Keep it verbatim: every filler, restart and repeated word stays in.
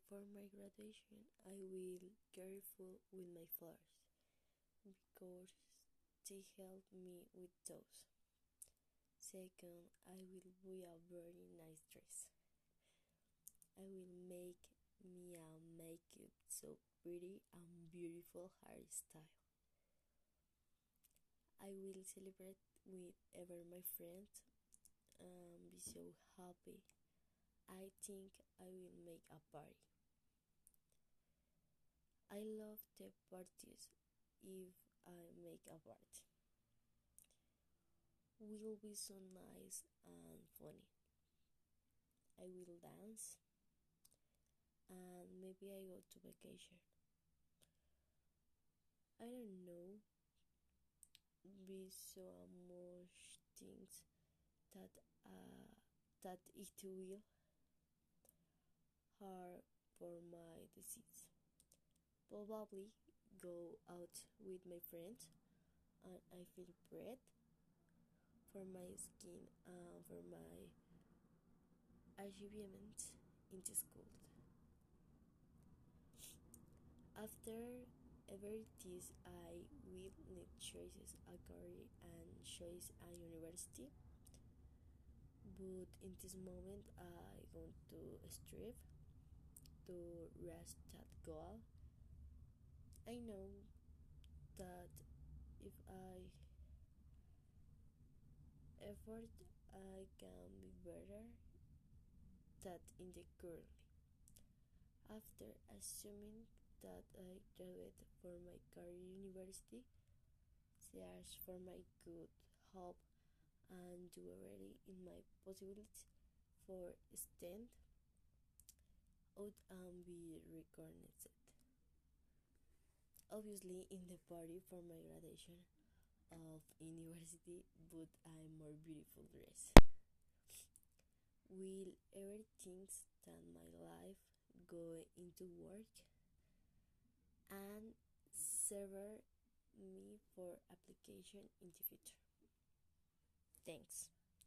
For my graduation, I will careful with my flowers because they help me with those. Second, I will wear a very nice dress. I will make me a makeup so pretty and beautiful hairstyle. I will celebrate with ever my friends and be so happy. I think I will make a party. I love the parties if I make a party. Will be so nice and funny. I will dance and maybe I go to vacation. I don't know, be so much things that uh, that it will hard for my disease. Probably go out with my friends and I feel bread for my skin and for my achievements in the school. After every this I will need choices a career and choice a university. But in this moment I want to strive to reach that goal. I know that if I effort I can be better than in the currently. After assuming that I graduate for my career university, search for my good hope and do already in my possibilities for stand out and be recognized. Obviously in the party for my graduation of university, but I more beautiful dress. Will ever think that my life go into work and serve me for application in the future. Thanks.